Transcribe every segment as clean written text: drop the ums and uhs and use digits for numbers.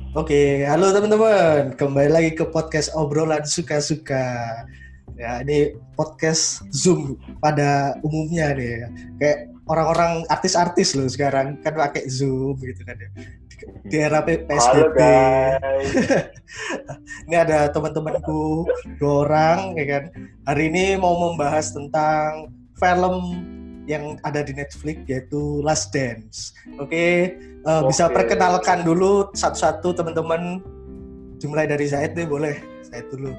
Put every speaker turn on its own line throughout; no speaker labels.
Oke, halo teman-teman. Kembali lagi ke podcast obrolan suka-suka. Ya, ini podcast Zoom pada umumnya nih. Kayak orang-orang artis-artis loh sekarang kan pakai Zoom gitu kan ya. Di era
Halo
PSBB.
guys.
Ini ada teman-temanku dua orang ya kan. Hari ini mau membahas tentang film yang ada di Netflix yaitu Last Dance. Oke, bisa
Oke.
perkenalkan dulu satu-satu teman-teman. Dimulai dari Zaid deh, boleh. Zaid dulu.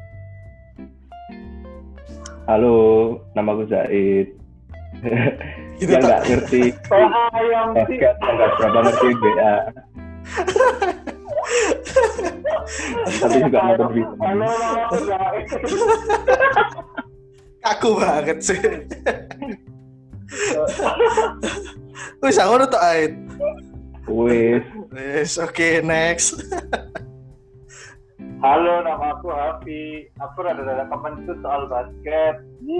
Halo, namaku Zaid.
Gitu
Yang
tak?
nggak ngerti
Ayam sih.
basket, yang nggak berapa ngerti NBA, tapi juga nonton film.
Halo, halo guys.
Kaku banget sih. Wih, aku udah tak Aid.
Wis,
Yes, oke, next.
Halo, nama aku Hafi. Aku rada-rada kepencut soal basket.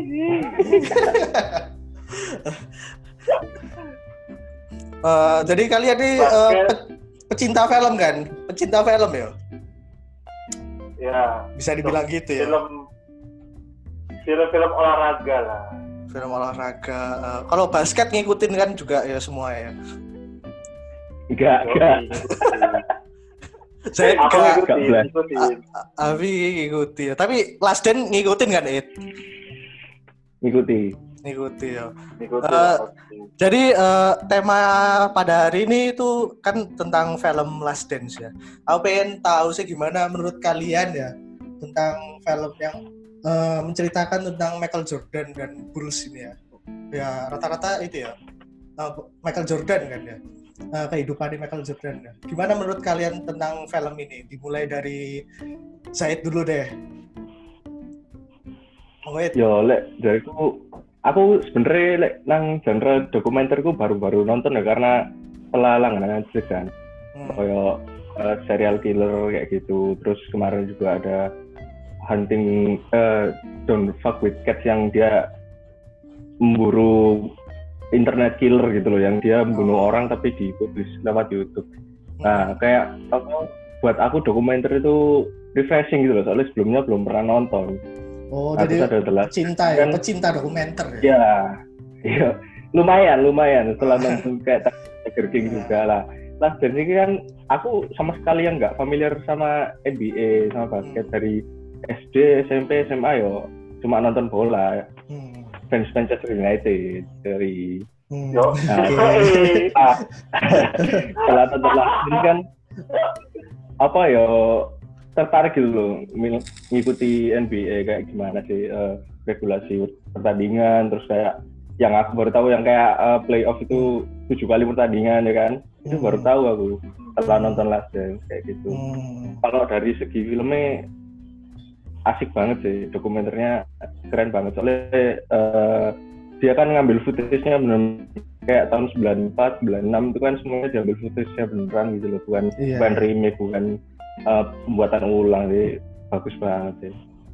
Jadi kalian ini
Basket.
pecinta film kan? Pecinta film ya?
Ya.
Bisa dibilang gitu ya?
Film olahraga lah.
Film olahraga. Kalau basket ngikutin kan juga ya semua ya?
enggak.
Saya
Aku
enggak.
ngikutin.
Avi ngikuti ya. Tapi Last Dance ngikutin kan, It?
Ngikuti.
Ngikuti ya.
Ngikutin.
Jadi tema pada hari ini itu kan tentang film Last Dance ya. Aku pengen tahu sih gimana menurut kalian ya tentang film yang menceritakan tentang Michael Jordan dan Bulls ini ya. Ya rata-rata itu ya Michael Jordan kan ya. Kehidupan Michael Jordan ya. Gimana menurut kalian tentang film ini? Dimulai dari Zaid dulu deh.
Yo, dariku aku sebenarnya nang genre dokumenterku baru-baru nonton ya karena setelah langganan Netflix kan. Kayak serial killer kayak gitu. Terus kemarin juga ada Hunting Don't Fuck with Cats yang dia memburu internet killer gitu loh, yang dia membunuh orang tapi dipublish lewat YouTube. Nah, kayak buat aku dokumenter itu refreshing gitu loh, soalnya sebelumnya belum pernah nonton.
Oh,
nah,
jadi
pecinta
ya, pecinta dokumenter
ya. Iya, lumayan setelah nonton kayak Tiger King juga lah. Nah, dan ini kan aku sama sekali yang nggak familiar sama NBA, sama basket dari SD, SMP, SMA yo. Cuma nonton bola. Fans Manchester United dari setelah nonton ini kan apa ya tertarik gitu loh mengikuti NBA kayak gimana sih regulasi pertandingan, terus kayak yang aku baru tahu yang kayak playoff itu 7 kali pertandingan ya kan, itu baru tahu aku setelah nonton Last Dance kayak gitu. Kalau dari segi filmnya asik banget sih, dokumenternya keren banget soalnya dia kan ngambil footage-nya bener kayak tahun 94, 96 itu kan semuanya diambil footage-nya beneran gitu loh, bukan remake, bukan pembuatan ulang sih, bagus banget sih.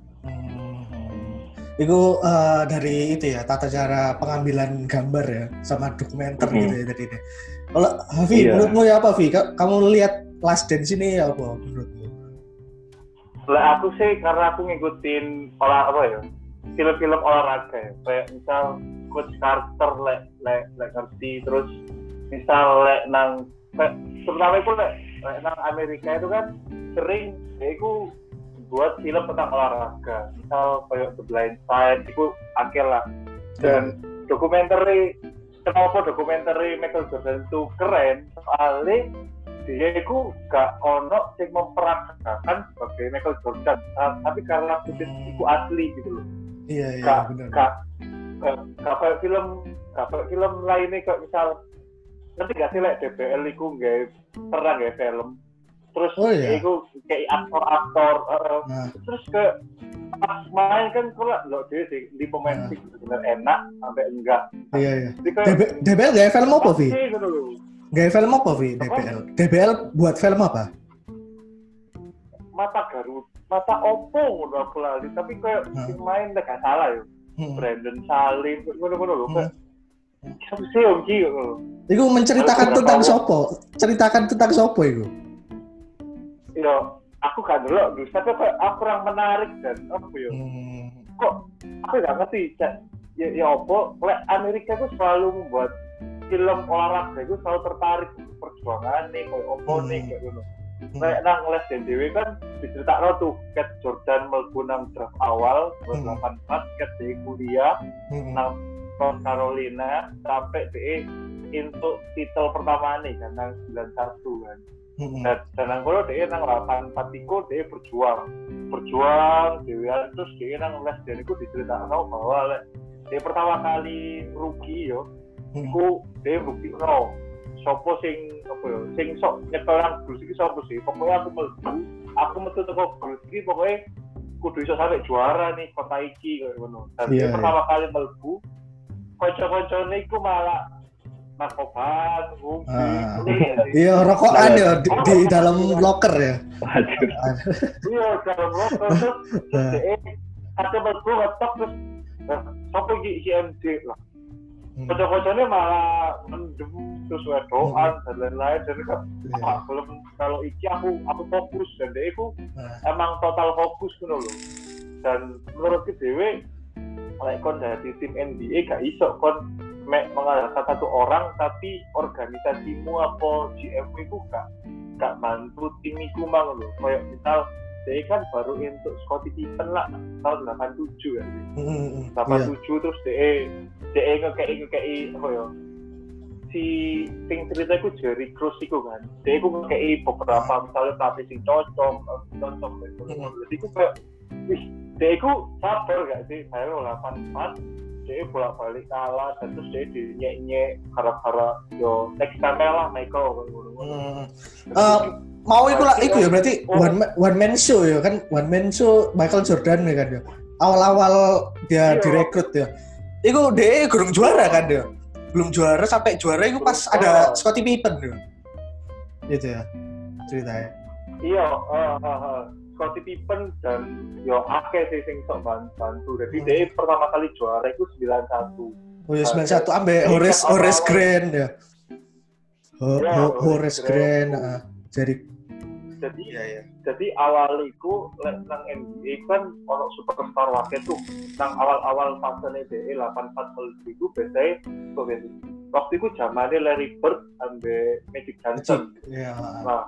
Itu dari itu ya, tata cara pengambilan gambar ya, sama dokumenter gitu ya tadi deh. Kalau Hafi, menurutmu ya apa Hafi? Kamu lihat Last Dance ini ya apa menurutmu?
Lah aku sih karena aku ngikutin film-film olahraga ya. Kayak misal Coach Carter ngerti, terus misal nang terutama itu nang Amerika itu kan sering itu buat film tentang olahraga. Misal kayak The Blind Side itu akhir lah. Dan kenapa dokumenter Michael Jordan itu keren? Soalnya dia itu gak ono yang memperagakan sebagai Michael Jordan, tapi karena footage itu asli gitu loh.
Iya benar.
Gak kayak film lainnya kayak misal nanti gak sih DBL itu gak pernah gak film terus itu kayak aktor terus ke pas main kan kalau lo dia sih di pemain sih benar enak sampai enggak.
Iya. DBL gak film apa Vi? Gak film apa Vi? DBL buat film apa?
Mata Oppo udah aku lali, tapi kayak main gak salah ya. Brandon Salim ngono lho kayak siapa sih Om Ki.
Iku menceritakan tentang sopo? Ceritakan tentang sopo iku?
aku gak ndelok terus tapi aku kurang menarik dan apa ya kok aku gak ngerti ya apa lek Amerika itu selalu membuat film olahraga itu selalu tertarik perjuangan nih kayak apa nih kayak gitu kayak nang les dewe kan diceritakno tuh Cat Jordan mlebu nang draft awal 84 Cat di kuliah nang North Carolina sampai de untuk titel pertama nih kan nang 91 kan dan nang kono de nang 84 iku de berjuang dewean terus de nang les dewe iku diceritakno bahwa lek de pertama kali rookie yo iku de buktikno sopo sing apa ya sing sok nyekel nang bus iki sopo sih pokoknya aku metu teko bus iki pokoknya kudu iso sampai juara nih kota iki kayak ngono dan pertama kali mlebu kanca-kancane iku malah narkoban
iya rokokan ya di dalam locker ya
iya dalam locker terus ada mlebu ngetok terus sopo iki IMD lah kocok-kocoknya malah mendem terus wedoan dan lain-lain dan belum kalau iki aku fokus dan dia itu emang total fokus gitu loh dan menurut dewe like kon dari tim NBA gak iso kon mengandalkan satu orang tapi organisasimu apa GM itu gak bantu tim iku mang loh kayak misal dia kan baru untuk Scottie Pippen lah tahun 87 kan 87 terus dia ngekei apa ya si sing cerita iku Jerry Cruz iku kan dia iku ngekei beberapa misalnya pelatih sing cocok jadi iku kayak wih dia iku sabar gak sih saya 84 dia bolak-balik kalah dan terus dia dinyek-nyek gara-gara yo next time lah Michael
mau iku ya berarti one man show ya kan one man show Michael Jordan ya kan ya awal-awal dia direkrut ya iku dia gurung juara kan dia belum juara sampai juara itu pas ada Scottie Pippen ya gitu ya ceritanya
iya Scottie Pippen dan yo akeh sih sing sok bantu jadi dia pertama kali juara itu 91
oh ya 91 ambek Horace Grant ya Horace Grant jadi awal iku nang NBA kan ono superstar wae tuh nang awal-awal fasene DE 84 iku biasanya waktu itu zamane Larry Bird ambe Magic Johnson. Nah,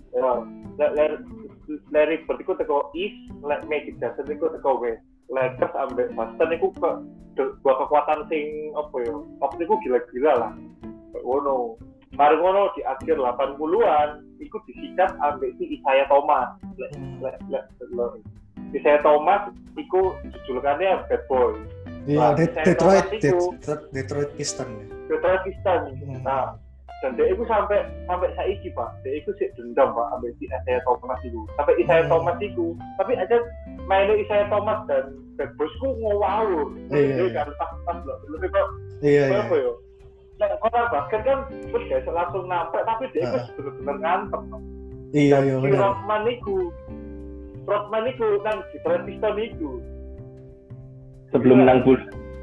Larry Bird iku teko East, Magic Johnson iku teko West. Lakers ambe Boston iku dua kekuatan sing apa ya? Waktu iku gila-gila lah. Ngono. Mari ngono di akhir 80-an iku disikat ambek si Isaiah Thomas. Isaiah Thomas iku julukannya Bad Boy. Iya, Detroit Pistons.
Nah, dan dia itu sampai saiki Pak. Dia itu sih dendam Pak ambek si Isaiah Thomas itu. Sampai Isaiah Thomas itu, tapi aja mainnya Isaiah Thomas dan Bad Boys ku ngawur. Dia kan pas loh. Lebih kok. Iya. Nah, kalau basket kan terus biasa langsung nampek tapi dia itu benar-benar ngantem.
Iya benar.
Rodman itu nang Detroit Pistons itu.
Sebelum nang Bulls.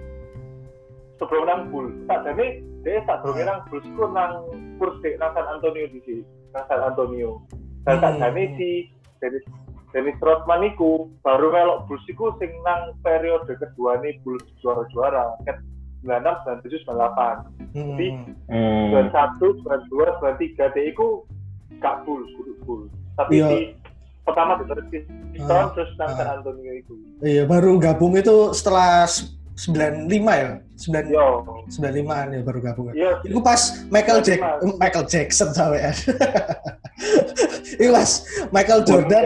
Tak jadi dia tak sebelum nang Bulls ku nang Spurs nang San Antonio di sini. San Antonio. Dan tak jadi si Dennis Rodman itu baru melok Bulls itu sing nang periode kedua nih Bulls juara-juara. 96, 97, 98. Jadi 91, 92, 93 dia itu gak Bulls. Tapi di pertama di Pistons terus nang San Antonio itu. Iya,
baru gabung itu setelah 95 ya? 95-an ya baru gabung. Iya. Itu pas Michael Jackson sampai ya. Itu pas Michael Jordan.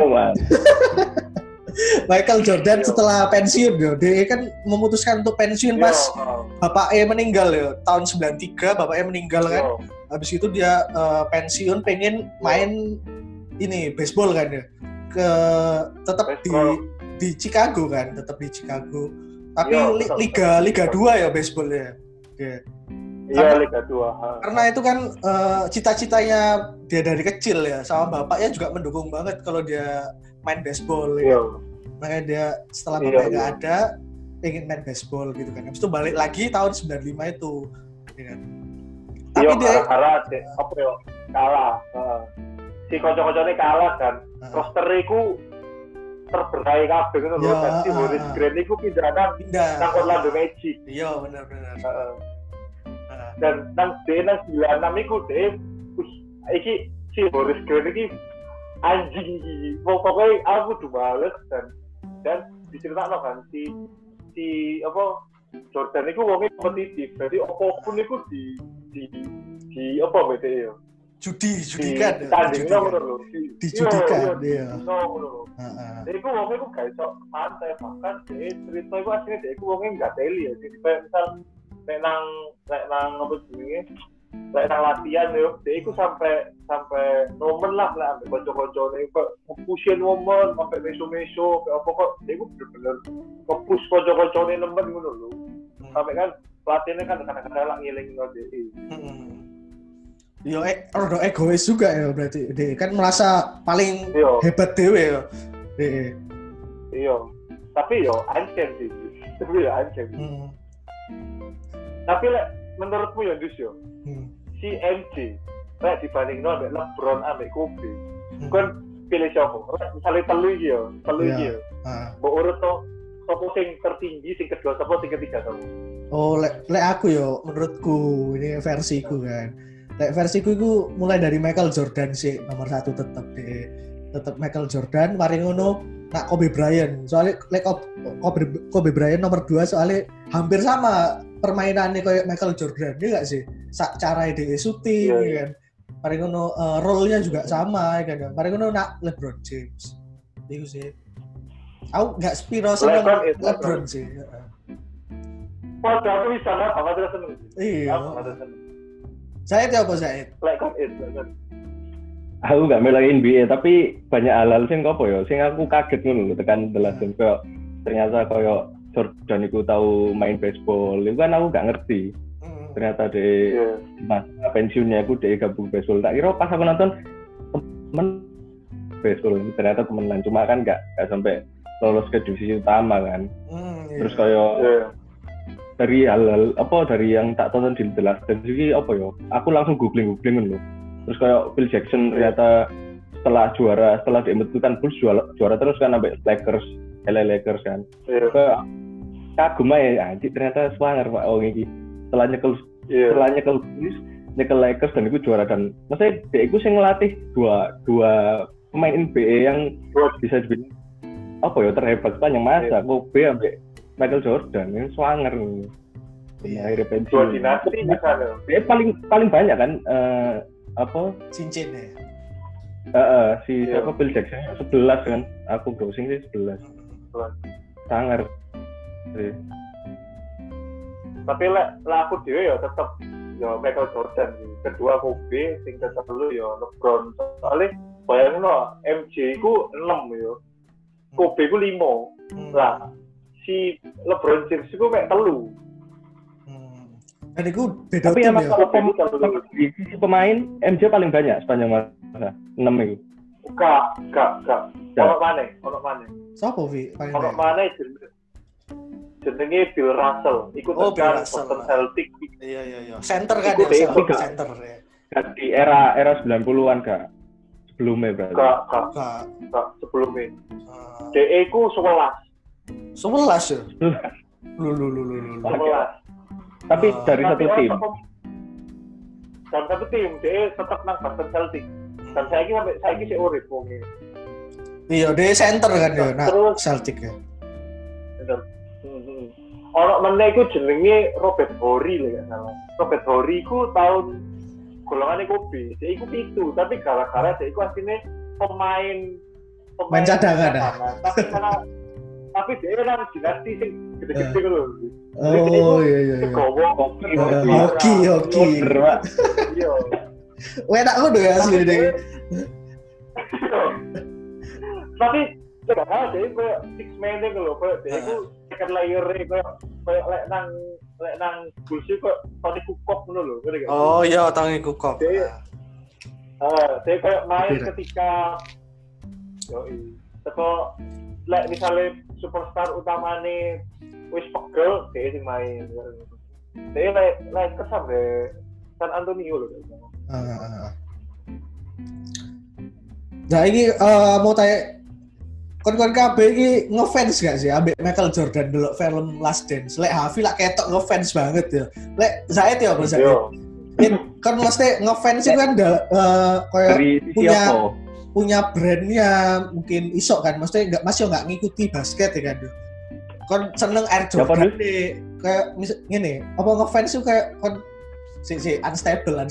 Michael Jordan setelah pensiun ya, dia kan memutuskan untuk pensiun pas bapaknya meninggal ya, tahun 93 bapaknya meninggal kan. Habis itu dia pensiun pengen main ini baseball kan ya. Tetap di Chicago kan, tetap di Chicago. Tapi Liga 2 ya baseballnya.
Iya, Liga 2.
Karena itu kan cita-citanya dia dari kecil ya, sama bapaknya juga mendukung banget kalau dia main baseball ya. Makanya dia setelah bapaknya nggak ada, pengen main baseball gitu kan. Habis itu balik lagi tahun 95 itu. Ya kan? Tapi dia
kalah. si kanca-kancane kalah kan. Roster iku terberai kabeh ngono lho. Dan si Horace Grant iku pindah nang Orlando Magic.
Iya, bener.
Dan nang 96 iku dhewe iki si Horace Grant iki anjing iki. Pokoknya aku kudu bales dan diceritakno kan si apa Jordan iku wonge kompetitif. Jadi apapun iku di apa BTE ya.
Judikan ya.
Tandingnya ngono lho.
Dijudikan dia.
Ngono. Jadi iku wonge iku gak iso santai bahkan cerita iku asline dia iku wonge enggak teli ya. Jadi kayak misal nek nang apa jenenge lek nang latihan yo, dia iku sampai nomen lah ambek kanca-kancane kok nge-pushin momen sampai meso-meso kayak apa kok dia iku bener-bener nge-push kanca-kancane nemen ngono lho. Sampai kan pelatihnya kan kadang-kadang lah ngiling-ngiling dia.
Yo rada egois juga ya berarti. Dia kan merasa paling hebat dewe ya.
Iya. Tapi yo ancen sih. Tapi yo ancen. Tapi lek menurutmu ya Dus yo. Si MJ lek dibandingno ambek LeBron ambek Kobe. Kan pilih siapa? Misalnya telu iki yo. Mbok urut to sapa sing tertinggi, sing kedua sapa, sing ketiga sapa?
Oh, lek aku yo menurutku ini versiku kan. Lek versiku itu mulai dari Michael Jordan sih nomor 1 tetap Michael Jordan, mari ngono nak Kobe Bryant. Soalnya lek Kobe Bryant nomor 2 soalnya hampir sama permainannya kayak Michael Jordan, ya enggak sih? Cara dia shooting kan. Mari ngono role-nya juga sama kan. Mari ngono nak LeBron James. Itu sih. Aku enggak spiro sama LeBron sih.
Padahal aku bisa lah, apa terus seneng.
Iya. Saya apa Zaid?
Like it.
Aku gak melain NBA tapi banyak hal-hal sing apa ya, sing aku kaget ngono lho tekan teladan kok ternyata koyo Jordan iku tahu main baseball. Itu kan aku gak ngerti. Ternyata di masa pensiunnya aku dia gabung baseball. Tak kira pas aku nonton temen baseball ternyata temenan cuma kan gak sampai lolos ke divisi utama kan. Terus koyo dari hal-hal apa dari yang tak tonton di The Last Dance iki apa ya? Aku langsung googling lho. Terus kayak Phil Jackson ternyata setelah diembutukan Bulls juara terus kan sampai LA Lakers kan. Kagum aja anjir ternyata swanger Pak iki. Setelah nyekel Bulls, nyekel Lakers dan itu juara dan maksudnya dia itu sing ngelatih dua pemain NBA yang bisa dibilang apa ya terhebat sepanjang masa. Kobe sampai Michael Jordan ini swanger nih. Akhirnya pensiun.
Dua dinasti misalnya.
Dia paling banyak kan apa?
Cincin ya.
Si siapa Phil Jackson 11 kan. Aku browsing sih 11. Sangar.
Tapi lah aku dhewe ya tetep ya Michael Jordan sih. Kedua Kobe, sing ketelu ya LeBron. Soalnya bayangin lo MJ ku 6 ya. Kobe ku 5. Lah si LeBron James itu kayak 3.
Dan itu beda
tapi
tim
emang
ya.
Kalau sisi pemain MJ paling banyak sepanjang masa 6 itu.
Gak. Ono mana?
Siapa Vi?
Ono mana jenenge Bill Russell. Ikut tekan Boston Celtics.
Iya. Center kan ya, center ya.
Di era 90-an Kak. Sebelumnya berarti.
Kak sebelumnya. DE ku 11
ya? Lu.
11.
Tapi dari satu tim.
Dan satu tim, dia tetap nang Boston Celtics. Dan saya sih urip wonge.
Iya, dia center kan ya, nah Celtic ya.
Bener. Ono meneh iku jenenge Robert Horry lho gak salah. Robert Horry ku tahun golongane Kobe. Dia iku 7, tapi gara-gara dia iku asline pemain
cadangan.
Tapi dia kan dinasti sing gede-gede lho.
Oh iya. Hoki.
Iya.
Enak ngono ya asli deh.
Tapi gak salah dia kayak six man deh lho, kayak dia itu second layer kayak lek nang Bulls kok Tony Kukoc ngono lho, ngerti gak?
Oh iya, Tony Kukoc.
Dia kayak main ketika teko lek misalnya superstar utamane wis pegel dia sing main. Dia lek kesan deh San Antonio lho.
Nah ini mau tanya kon kabeh iki ngefans gak sih ambek Michael Jordan delok film Last Dance? Lek Hafi lak ketok ngefans banget ya. Lek Zaid ya apa Zaid? Kan mesti ngefans itu kan kayak punya brandnya mungkin iso kan, maksudnya masih nggak ngikuti basket ya kan. Kon seneng Air Jordan deh, kayak gini, apa ngefans itu kayak kon si unstable.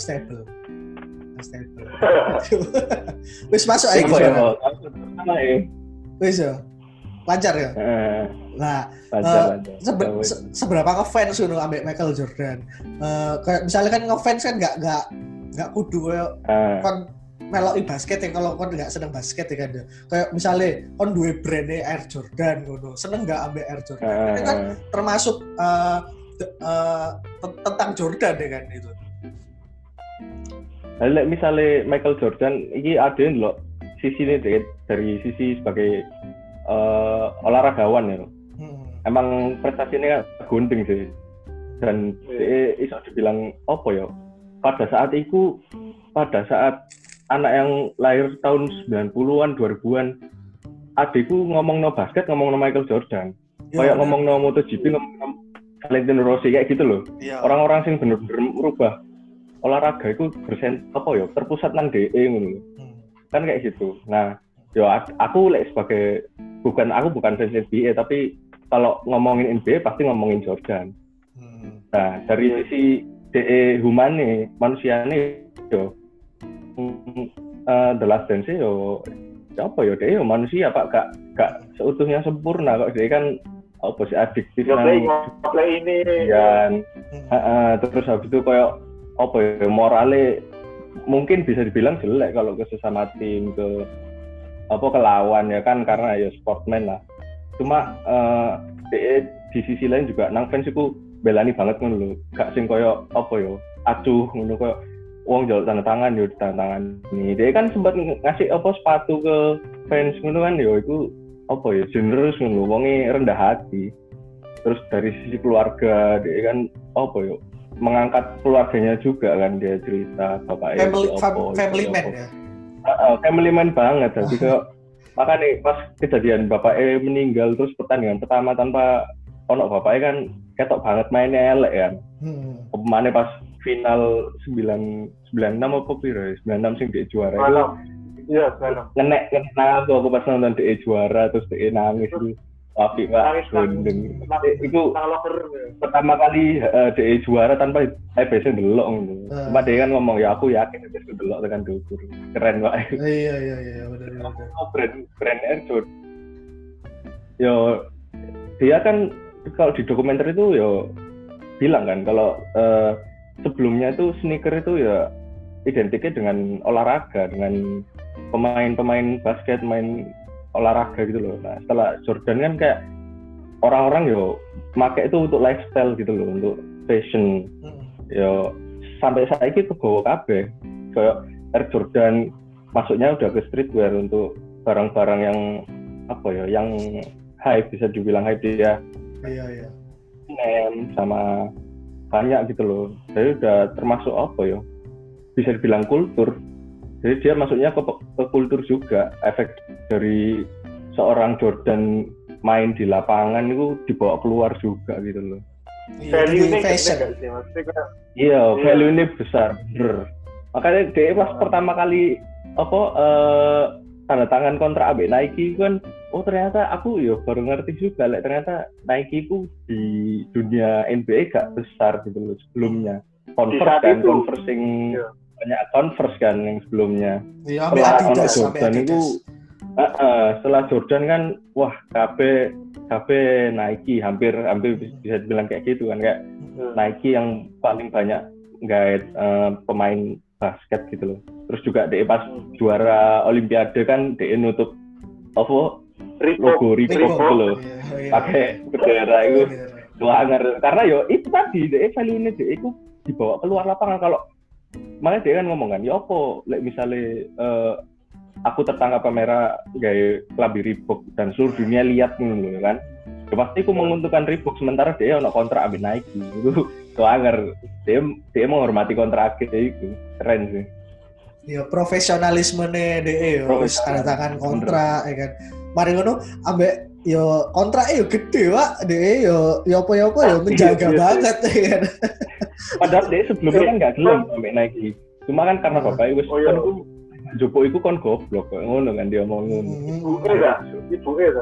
Wis masuk aja gitu. Wis ya. Lancar ya? Nah, seberapa ngefans ngono ambek Michael Jordan. Kayak misalnya kan ngefans kan enggak kudu kayak kon meloki basket ya, kalau kon enggak seneng basket ya kan. Kayak misalnya kon duwe brand Air Jordan ngono. Seneng enggak ambek Air Jordan? Ini kan termasuk tentang Jordan ya kan itu.
Lah misalnya Michael Jordan iki ada lho sisi ini dari sisi sebagai olahragawan ya. Emang prestasinya gunting sih. Dan iso dibilang apa ya? Pada saat anak yang lahir tahun 90-an, 2000-an, adikku ngomong no basket, ngomong no Michael Jordan. Kayak ngomong no MotoGP, ngomong no Valentino Rossi kayak gitu loh. Ya. Orang-orang sing bener-bener merubah olahraga itu terpusat nang DE ngono. Kan kayak gitu. Nah, aku sebagai bukan fans NBA, tapi kalau ngomongin NBA pasti ngomongin Jordan. Nah, dari sisi DE humane, manusiane yo The Last Dance yo DE manusia Pak, gak seutuhnya sempurna kok. DE kan apa sih adiktif nang
ini.
Terus habis itu kayak morale mungkin bisa dibilang jelek kalau ke sesama tim, ke lawan ya kan, karena ya sportman lah. Cuma di sisi lain juga nang fans iku belani banget ngono lho. Gak sing koyo acuh ngono koyo wong njaluk tanda tangan yo tanda tangan. Dia kan sempat ngasih sepatu ke fans ngono kan yo iku generous ngono, wonge rendah hati. Terus dari sisi keluarga dia kan mengangkat keluarganya juga kan, dia cerita bapaknya
family man ya.
Family man banget. Jadi makanya pas kejadian bapaknya meninggal terus pertandingan pertama tanpa bapaknya kan ketok banget mainnya elek kan. Pemainnya pas final 96 apa piro? 96 sing dia juara itu.
Iya, 96.
Ngenek aku pas nonton dia juara terus dia nangis itu. Tapi Pak gendeng. Itu pertama kali DE juara tanpa biasa ndelok ngono. Cuma dia kan ngomong ya aku yakin bisa ndelok tekan diukur. Keren Pak.
Iya benar.
Brand Air Jordan. Yo dia kan kalau di dokumenter itu yo bilang kan kalau sebelumnya itu sneaker itu ya identiknya dengan olahraga, dengan pemain basket, main olahraga gitu loh. Nah setelah Jordan kan kayak orang-orang pakai itu untuk lifestyle gitu loh, untuk fashion. Sampai saat ini kebawa kabeh kayak Air Jordan masuknya udah ke streetwear untuk barang-barang yang yang hype, bisa dibilang hype dia.
Iya.
Sama banyak gitu loh. Jadi udah termasuk bisa dibilang kultur. Jadi dia masuknya ke kultur juga. Efek dari seorang Jordan main di lapangan itu dibawa keluar juga gitu loh.
Value-nya
fashion.
Iya, value-nya besar. Bener. Makanya dia pas pertama kali tanda tangan kontrak ambek Nike kan, ternyata aku baru ngerti juga ternyata Nike itu di dunia NBA gak besar gitu loh sebelumnya. Converse banyak Converse kan yang sebelumnya.
Iya, Adidas
Jordan itu setelah Jordan kan KB Nike hampir bisa dibilang kayak gitu kan, kayak Nike yang paling banyak guide pemain basket gitu loh. Terus juga dia pas juara Olimpiade kan dia nutup logo Reebok gitu loh, pakai bendera itu. Karena itu tadi dia value-nya dia itu dibawa keluar lapangan. Kalau makanya dia kan ngomong kan, misalnya aku tertangkap kamera gaya klambi Reebok dan seluruh dunia lihat dulu kan, pasti aku menguntungkan Reebok, sementara dia ono kontrak ambil Nike itu. Dia menghormati kontrak itu, keren sih.
Ya profesionalismene DE yo wis tanda tangan kontrak ya kan. Mari ngono ambek yo kontrak yo gede Pak. DE yo apa-apa yo menjaga banget ya kan.
Padahal dia sebelumnya kan nggak gelem sampai Nike. Cuma kan karena bapaknya wis kan ku Jopo iku kon goblok kok ngono kan dia mau ngono.
Ibuke ta.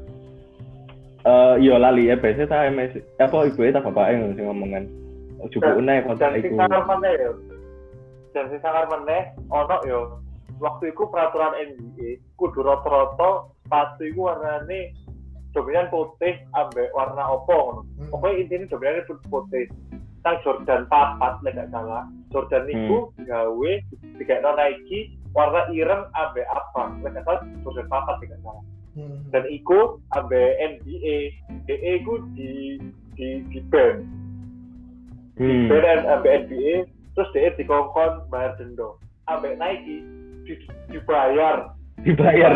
Yo lali ya biasa ta MS apa ibuke ta bapaknya sing ngomong kan. Jopo naik kontrak iku.
Dan sing sangar meneh ono yo waktu iku peraturan NBA kudu rata-rata sepatu iku warnane dominan putih ambek warna opo ngono. Pokoknya intinya dominan putih. Tang Jordan 4 lek gak salah. Jordan iku gawe dikekno Nike warna ireng ambek apa. Lek gak salah Jordan 4 lek gak salah. Dan iku ambek NBA, DE iku di ban. Ban ambek NBA terus dia dikongkon bayar denda. Ambek Nike dibayar
Dibayar.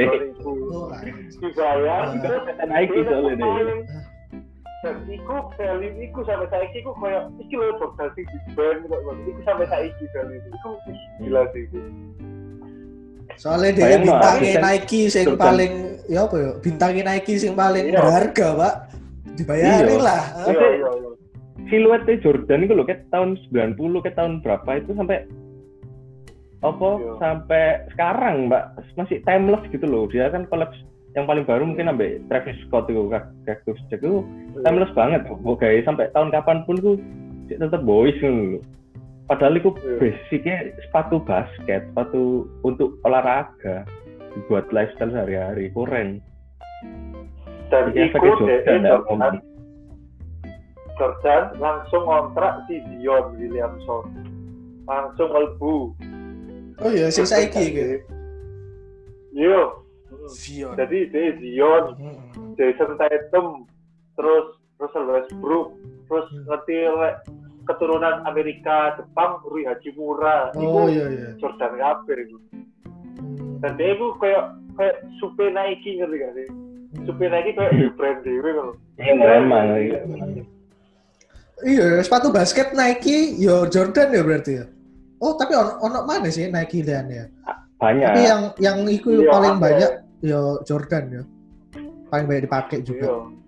Terus
Nike soalnya deh.
Dan iku value iku sampai saiki iku koyo iki lho Jordan sing di band kok iku sampai saiki value iku gila sih iku.
Soalnya dia bintangnya Nike sing paling ya apa ya? Bintangnya Nike sing paling berharga, Pak. Dibayarin lah.
Iya.
Siluetnya Jordan itu loh, kayak tahun 90, kayak tahun berapa itu sampai sampai sekarang Mbak masih timeless gitu loh. Dia kan collab yang paling baru mungkin sampai Travis Scott itu Cactus Jack itu timeless banget. Oke, sampai tahun kapanpun tuh tetap boys gitu loh. Padahal itu basicnya sepatu basket, sepatu untuk olahraga, buat lifestyle sehari-hari, keren.
Dan itu Jordan langsung kontrak si Zion Williamson, langsung melbu.
Oh iya, sing saiki gitu.
Yo.
Zion.
Jadi dia Zion, Jason Tatum, terus Russell Westbrook, terus ngerti keturunan Amerika, Jepang, Rui Hachimura.
Oh iya.
Jordan kabeh itu. Dan dia itu kayak super Nike ngerti gak sih? Super Nike kayak brand dewe kan.
Memang.
Iya, sepatu basket Nike, yo Jordan ya berarti ya. Oh, tapi ono mana sih Nike dan ya?
Banyak.
Tapi yang itu paling banyak yo Jordan ya. Paling banyak dipakai juga.